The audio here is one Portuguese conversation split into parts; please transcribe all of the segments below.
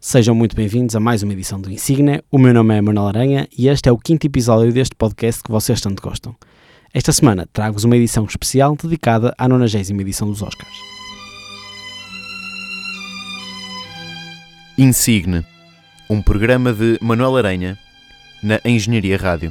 Sejam muito bem-vindos a mais uma edição do Insigne. O meu nome é Manuel Aranha e este é o 5º episódio deste podcast que vocês tanto gostam. Esta semana trago-vos uma edição especial dedicada à 90ª edição dos Oscars. Insigne, um programa de Manuel Aranha na Engenharia Rádio.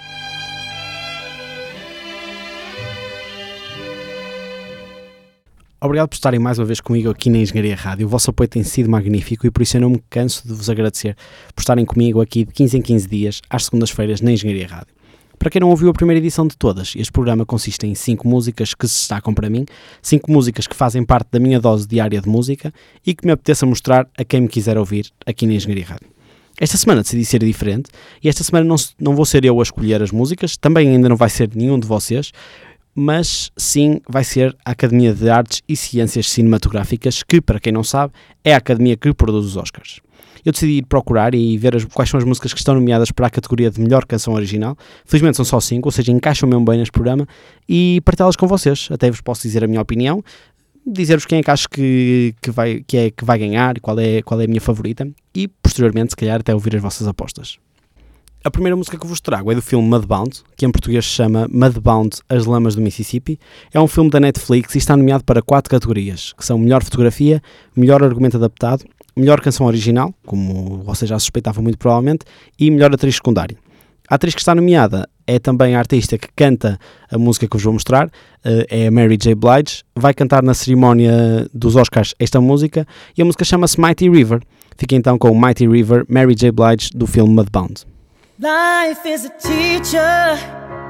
Obrigado por estarem mais uma vez comigo aqui na Engenharia Rádio. O vosso apoio tem sido magnífico e por isso eu não me canso de vos agradecer por estarem comigo aqui de 15 em 15 dias, às segundas-feiras, na Engenharia Rádio. Para quem não ouviu a primeira edição de todas, este programa consiste em 5 músicas que se destacam para mim, 5 músicas que fazem parte da minha dose diária de música e que me apeteça mostrar a quem me quiser ouvir aqui na Engenharia Rádio. Esta semana decidi ser diferente e esta semana não vou ser eu a escolher as músicas, também ainda não vai ser nenhum de vocês, mas sim vai ser a Academia de Artes e Ciências Cinematográficas, que, para quem não sabe, é a academia que produz os Oscars. Eu decidi ir procurar e ver quais são as músicas que estão nomeadas para a categoria de melhor canção original. Felizmente são só 5, ou seja, encaixam mesmo bem neste programa, e partilhá-las com vocês. Até vos posso dizer a minha opinião, dizer-vos quem é que acho que vai ganhar, qual é a minha favorita, e posteriormente, se calhar, até ouvir as vossas apostas. A primeira música que vos trago é do filme Mudbound, que em português se chama Mudbound, As Lamas do Mississippi. É um filme da Netflix e está nomeado para 4 categorias, que são melhor fotografia, melhor argumento adaptado, melhor canção original, como vocês já suspeitavam muito provavelmente, e melhor atriz secundária. A atriz que está nomeada é também a artista que canta a música que vos vou mostrar, é a Mary J. Blige. Vai cantar na cerimónia dos Oscars esta música e a música chama-se Mighty River. Fica então com Mighty River, Mary J. Blige, do filme Mudbound. Life is a teacher,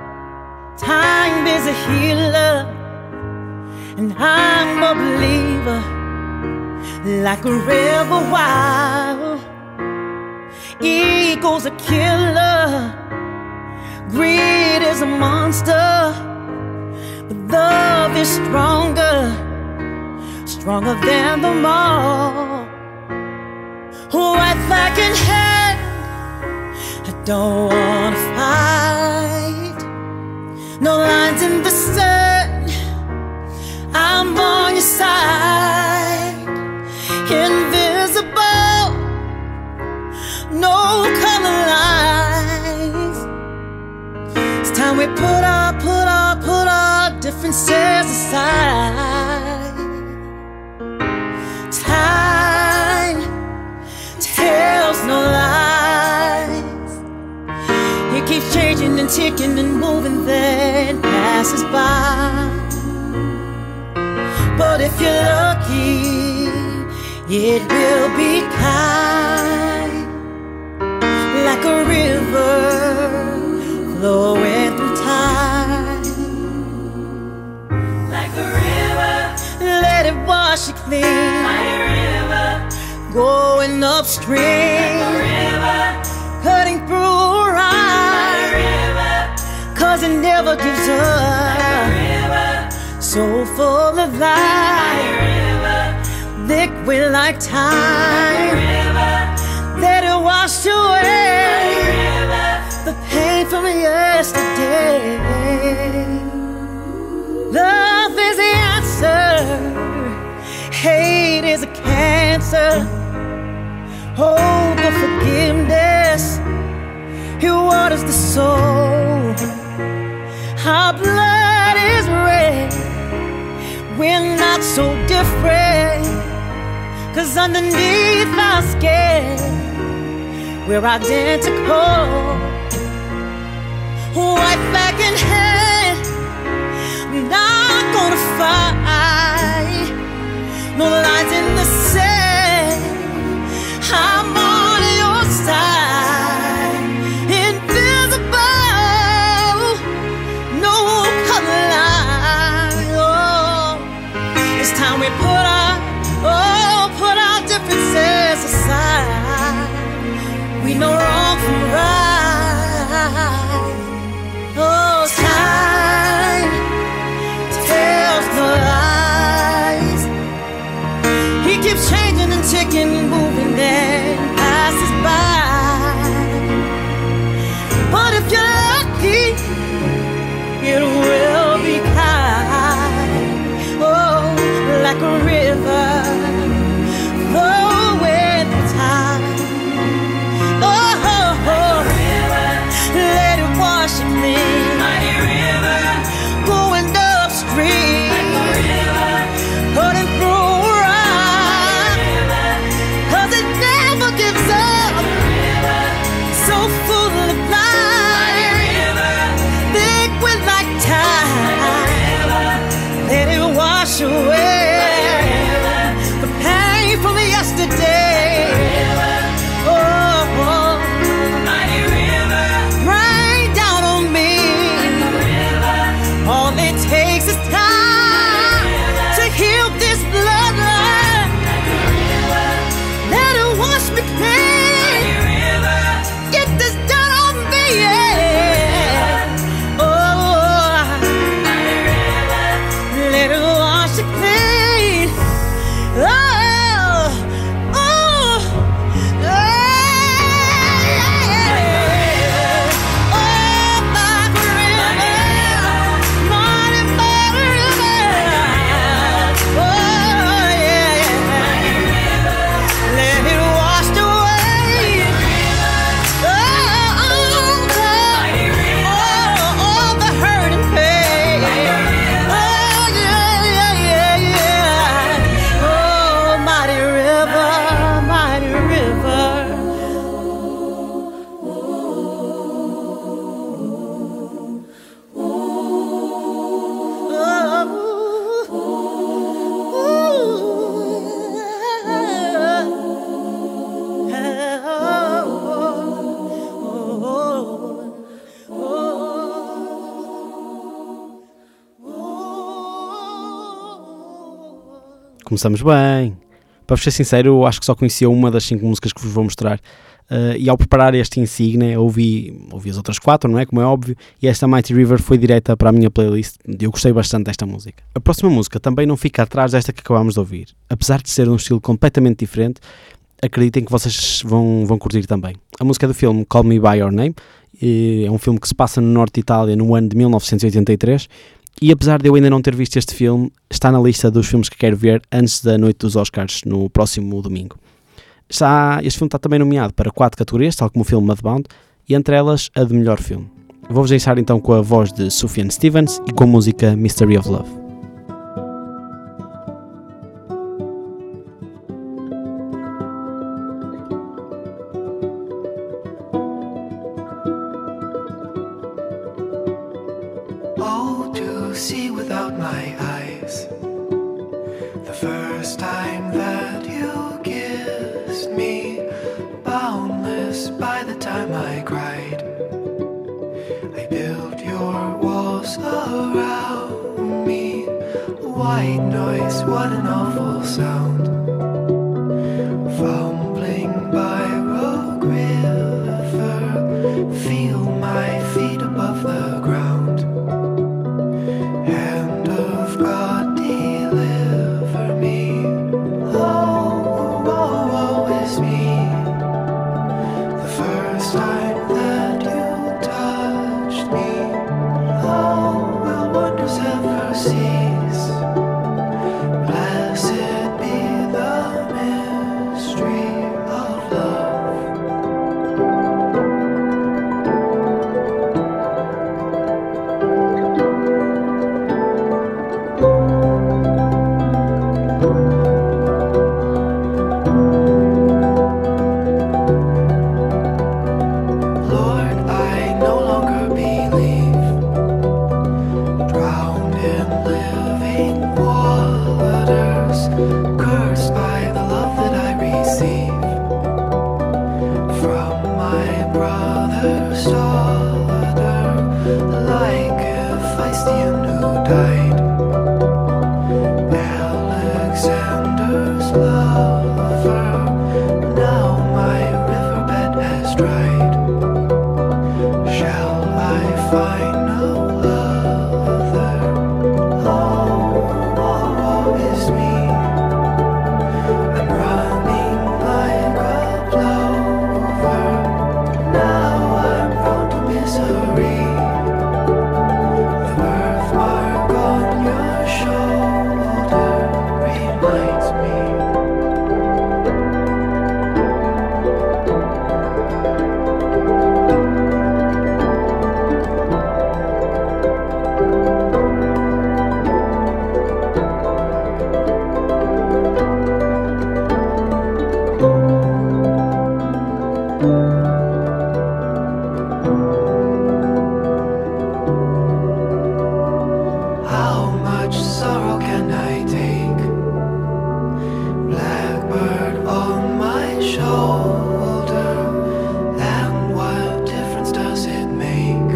time is a healer, and I'm a believer, like a river wild. Ego's a killer, greed is a monster, but love is stronger, stronger than them all. White flag in hand, I don't wanna fight. No lines in the sun, I'm on your side. Invisible, no color lines. It's time we put our differences aside. Time tells no lies. It keeps changing and ticking and moving, then passes by. But if you're lucky, it will be kind, like a river flowing through time. Like a river, let it wash you clean. Like a river, going upstream. Like a river, cutting through rhyme. Like a river, 'cause it never gives up. Like a river, so full of life. Liquid like time, let it wash away the pain from yesterday. Love is the answer, hate is a cancer. Hope of forgiveness, it waters the soul. Our blood is red, we're not so different, 'cause underneath our skin, we're identical. White flag in hand, not gonna fight. No lines in the sand, I'm on your side. Invisible, no color line. Oh, it's time we put our differences aside. We know wrong from right. Oh, time tells no lies. He keeps Começamos bem. Para vos ser sincero, eu acho que só conhecia uma das 5 músicas que vos vou mostrar. E ao preparar este Insignia, ouvi as outras 4, não é? Como é óbvio. E esta Mighty River foi direta para a minha playlist. Eu gostei bastante desta música. A próxima música também não fica atrás desta que acabámos de ouvir. Apesar de ser de um estilo completamente diferente, acreditem que vocês vão curtir também. A música é do filme Call Me By Your Name. É um filme que se passa no norte de Itália no ano de 1983. E apesar de eu ainda não ter visto este filme, está na lista dos filmes que quero ver antes da noite dos Oscars, no próximo domingo. Este filme está também nomeado para 4 categorias, tal como o filme Mudbound, e entre elas a de melhor filme. Vou-vos deixar então com a voz de Sufjan Stevens e com a música Mystery of Love. Oh, to see without my eyes, the first time that you kissed me, boundless by the time I cried. I built your walls around me, white noise, what an awful sound. Fumbling by Rogue River, feel my feet above the ground. Hand of God, deliver me. Oh, woe, woe is me. The first time that you touched me, oh, will wonders ever cease? Blessed be the mystery of love. Lord, I no longer believe, drowned in living waters, cursed by the love that I receive from my brother's daughter, like Hephaestion who died, Alexander's lover. Now my riverbed has dried. Shall I find no other? Oh, woe is me. I'm running like a plover. Now I'm prone to misery. The birthmark on your shoulder reminds me. How much sorrow can I take? Blackbird on my shoulder, and what difference does it make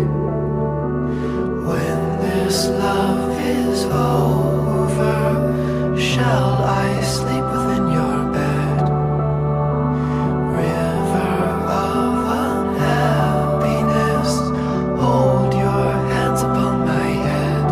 when this love is over? Shall I sleep within your bed? River of unhappiness, hold your hands upon my head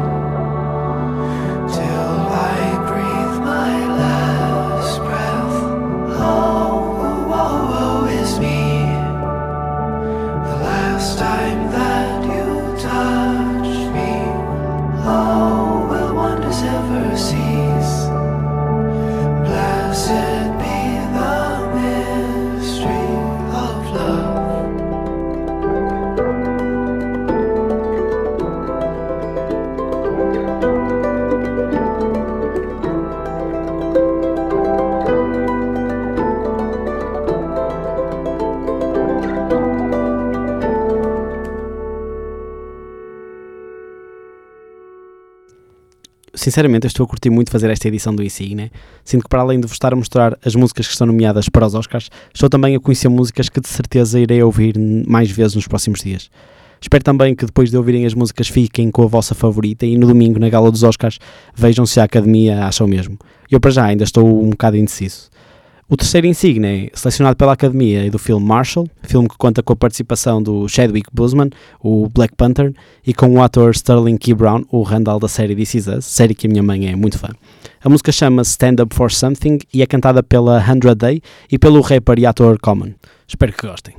till I breathe my last breath. Oh, woe, woe is me. The last time that you touched me, oh, will wonders ever cease? Blessed be the mystery of love. Sinceramente, eu estou a curtir muito fazer esta edição do Insignia. Sinto que, para além de vos estar a mostrar as músicas que estão nomeadas para os Oscars, estou também a conhecer músicas que de certeza irei ouvir mais vezes nos próximos dias. Espero também que depois de ouvirem as músicas fiquem com a vossa favorita e no domingo, na gala dos Oscars, vejam se a Academia acha o mesmo. Eu para já ainda estou um bocado indeciso. O terceiro insígnia é selecionado pela Academia e do filme Marshall, filme que conta com a participação do Chadwick Boseman, o Black Panther, e com o ator Sterling K. Brown, o Randall da série This Is Us, série que a minha mãe é muito fã. A música chama-se Stand Up For Something e é cantada pela 100 Day e pelo rapper e ator Common. Espero que gostem.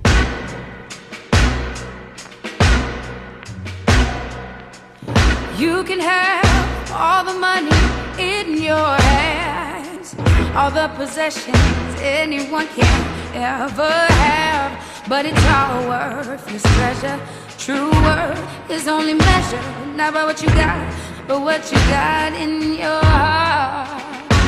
You can have all the money in your hands, all the possessions anyone can ever have, but it's all worthless treasure. True worth is only measured not by what you got, but what you got in your heart.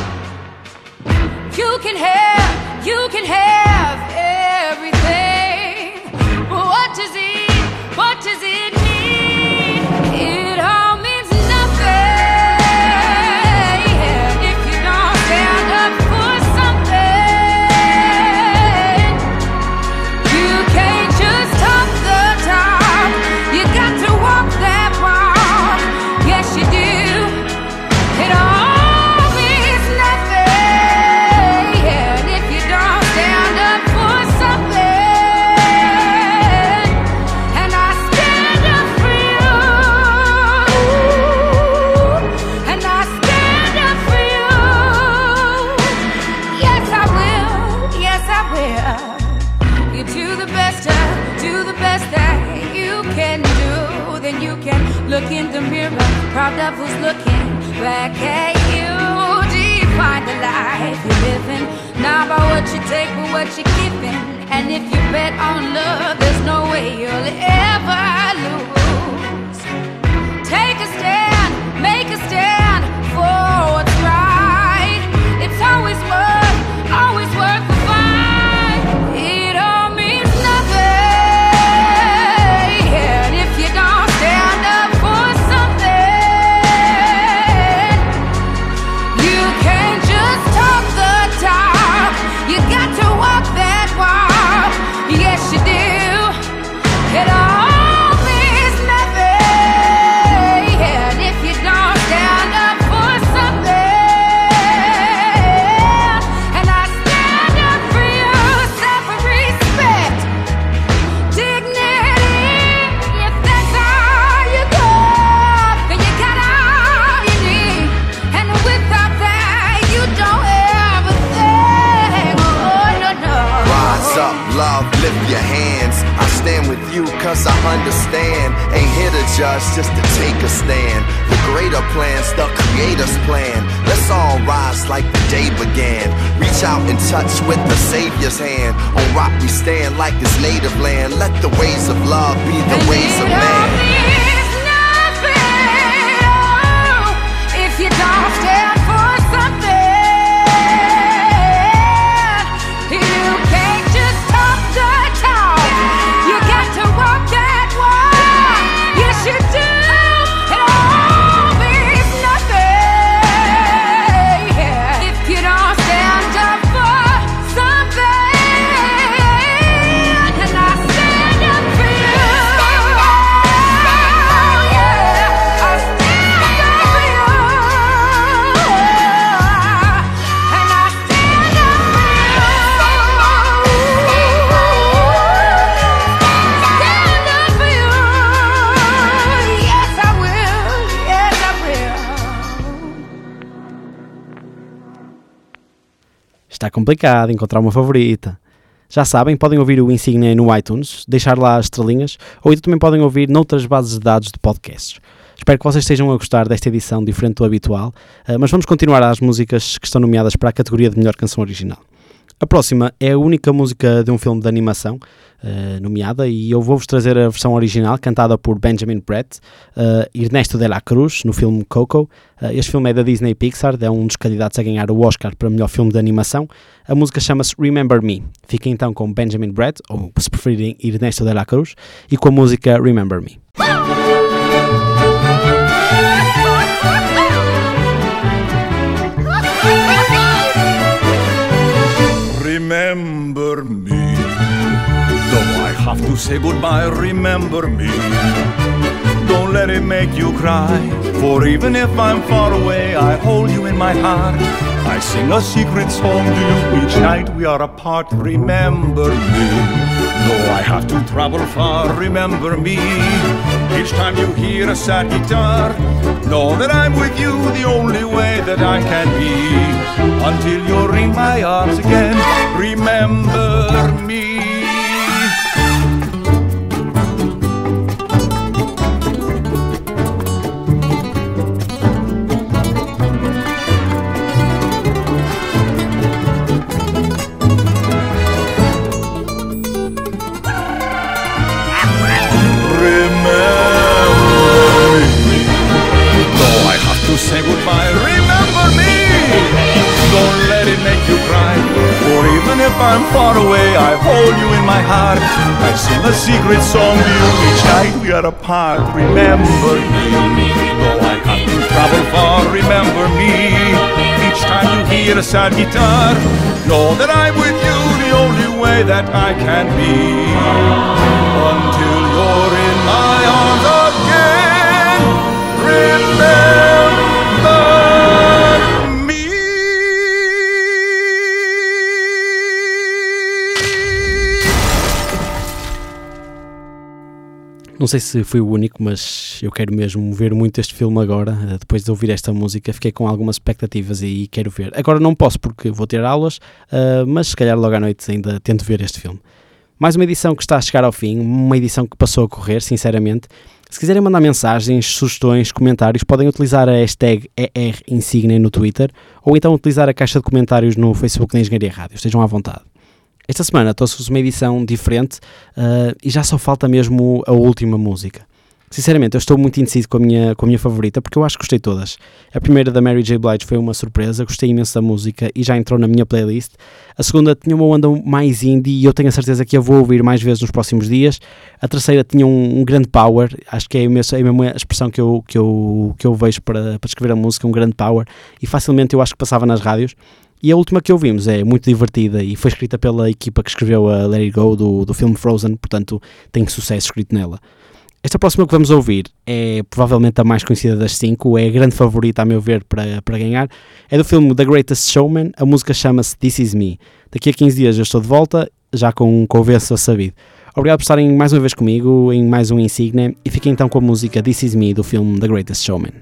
You can have everything, but what does it mean? It all means nothing if you don't stand up for something. You can't just talk the talk, you got to walk that walk. Yes you do. It all means nothing if you don't stand up for something. And I stand up for you, and I stand up for you. Yes I will, yes I will. You do the best that you can do. Then you can look in the mirror, proud of who's looking back at you. Define the life you're living, not by what you take but what you're giving. And if you bet on love, there's no way you'll ever lose. Take a stand, make a stand for what's right. It's always worth the fight. It all means nothing if you don't stand up for something. You can't just talk the talk, you got to walk that walk. Yes you do. It all means nothing if you don't stand up for something. And I stand up for you, self-respect, dignity. If that's all you got, then you got all you need. And without that, you don't have a thing. Oh no no. Rise up, love, lift your hands. I stand with you cause I understand. Ain't here to judge, just to take a stand. The greater plan's the creator's plan. Let's all rise like the day began. Reach out and touch with the Savior's hand. On rock we stand like his native land. Let the ways of love be the ways of man. If you don't stand for something, you can't just talk the talk, you got to walk that walk. Yes you do. It all means nothing if you don't stand up for something. And I stand up for you. Yeah, I stand up for you. And I stand up for you. Stand up for you. Yes I will, yes I will. Está complicado encontrar uma favorita. Já sabem, podem ouvir o Insígnia no iTunes, deixar lá as estrelinhas, ou então também podem ouvir noutras bases de dados de podcasts. Espero que vocês estejam a gostar desta edição diferente do habitual, mas vamos continuar às músicas que estão nomeadas para a categoria de melhor canção original. A próxima é a única música de um filme de animação nomeada, e eu vou-vos trazer a versão original cantada por Benjamin Bratt, Ernesto de la Cruz, no filme Coco. Este filme é da Disney Pixar, é um dos candidatos a ganhar o Oscar para melhor filme de animação. A música chama-se Remember Me. Fiquem então com Benjamin Bratt, ou se preferirem Ernesto de la Cruz, e com a música Remember Me. Remember me, though I have to say goodbye, remember me. Don't let it make you cry, for even if I'm far away, I hold you in my heart. I sing a secret song to you each night we are apart, remember me. Though I have to travel far, remember me. Each time you hear a sad guitar, know that I'm with you the only way that I can be. Until you're in my arms again, remember me. Say goodbye, remember me. Don't let it make you cry, for even if I'm far away, I hold you in my heart. I sing a secret song to you each night we are apart, remember me. Though I have to travel far, remember me. Each time you hear a sad guitar, know that I'm with you the only way that I can be. Until you're in my arms again, remember. Não sei se fui o único, mas eu quero mesmo ver muito este filme agora. Depois de ouvir esta música, fiquei com algumas expectativas e quero ver. Agora não posso porque vou ter aulas, mas se calhar logo à noite ainda tento ver este filme. Mais uma edição que está a chegar ao fim, uma edição que passou a correr, sinceramente. Se quiserem mandar mensagens, sugestões, comentários, podem utilizar a hashtag ERInsigne no Twitter ou então utilizar a caixa de comentários no Facebook da Engenharia Rádio. Estejam à vontade. Esta semana trouxe-vos uma edição diferente e já só falta mesmo a última música. Sinceramente, eu estou muito indeciso com a minha favorita, porque eu acho que gostei de todas. A primeira, da Mary J. Blige, foi uma surpresa, gostei imenso da música e já entrou na minha playlist. A segunda tinha uma onda mais indie e eu tenho a certeza que eu vou ouvir mais vezes nos próximos dias. A terceira tinha um grande power, acho que é mesmo a expressão que eu vejo para descrever a música, um grande power, e facilmente eu acho que passava nas rádios. E a última que ouvimos é muito divertida e foi escrita pela equipa que escreveu a Let It Go do filme Frozen, portanto tem sucesso escrito nela. Esta próxima que vamos ouvir é provavelmente a mais conhecida das 5, é a grande favorita a meu ver para ganhar. É do filme The Greatest Showman, a música chama-se This Is Me. Daqui a 15 dias eu estou de volta, já com o vencedor sabido. Obrigado por estarem mais uma vez comigo em mais um Insigne e fiquem então com a música This Is Me do filme The Greatest Showman.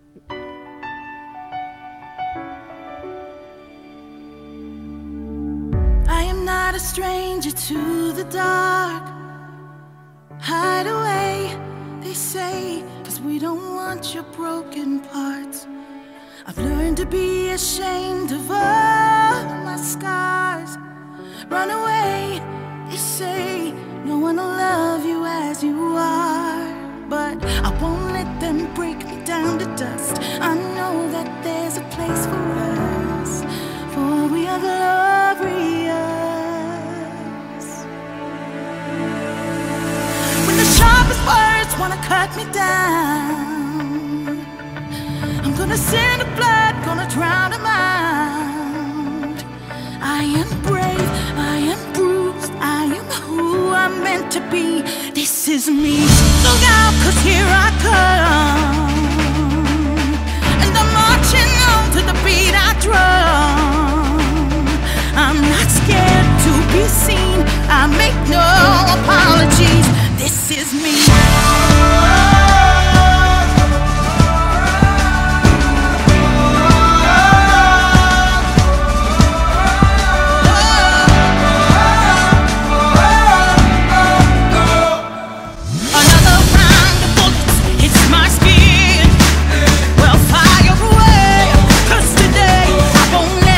A stranger to the dark. Hide away, they say, 'cause we don't want your broken parts. I've learned to be ashamed of all my scars. Run away, they say, no one will love you as you are. But I won't let them break me down to dust. I know that there's a place for us, for we are glorious. Sharpest words wanna cut me down. I'm gonna send the blood, gonna drown them out. I am brave, I am bruised, I am who I'm meant to be. This is me. Look out, 'cause here I come, and I'm marching on to the beat I drum. I'm not scared to be seen, I make no apologies. This is me.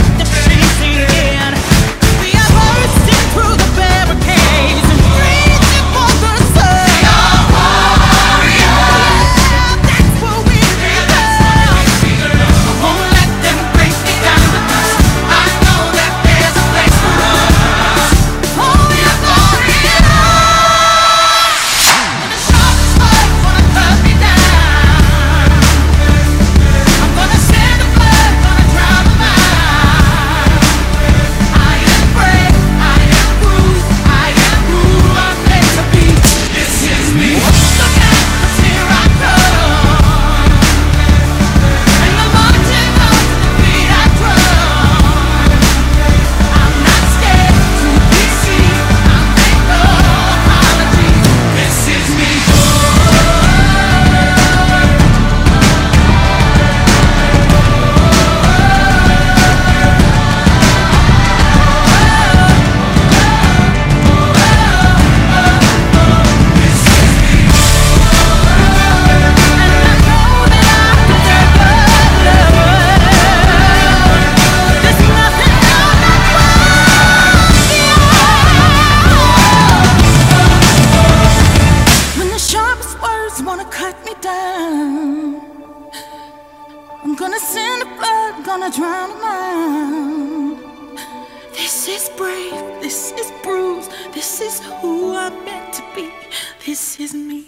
Through the barricades and breathe This is who I'm meant to be. This is me.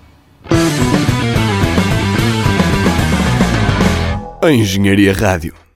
A Engenharia Rádio.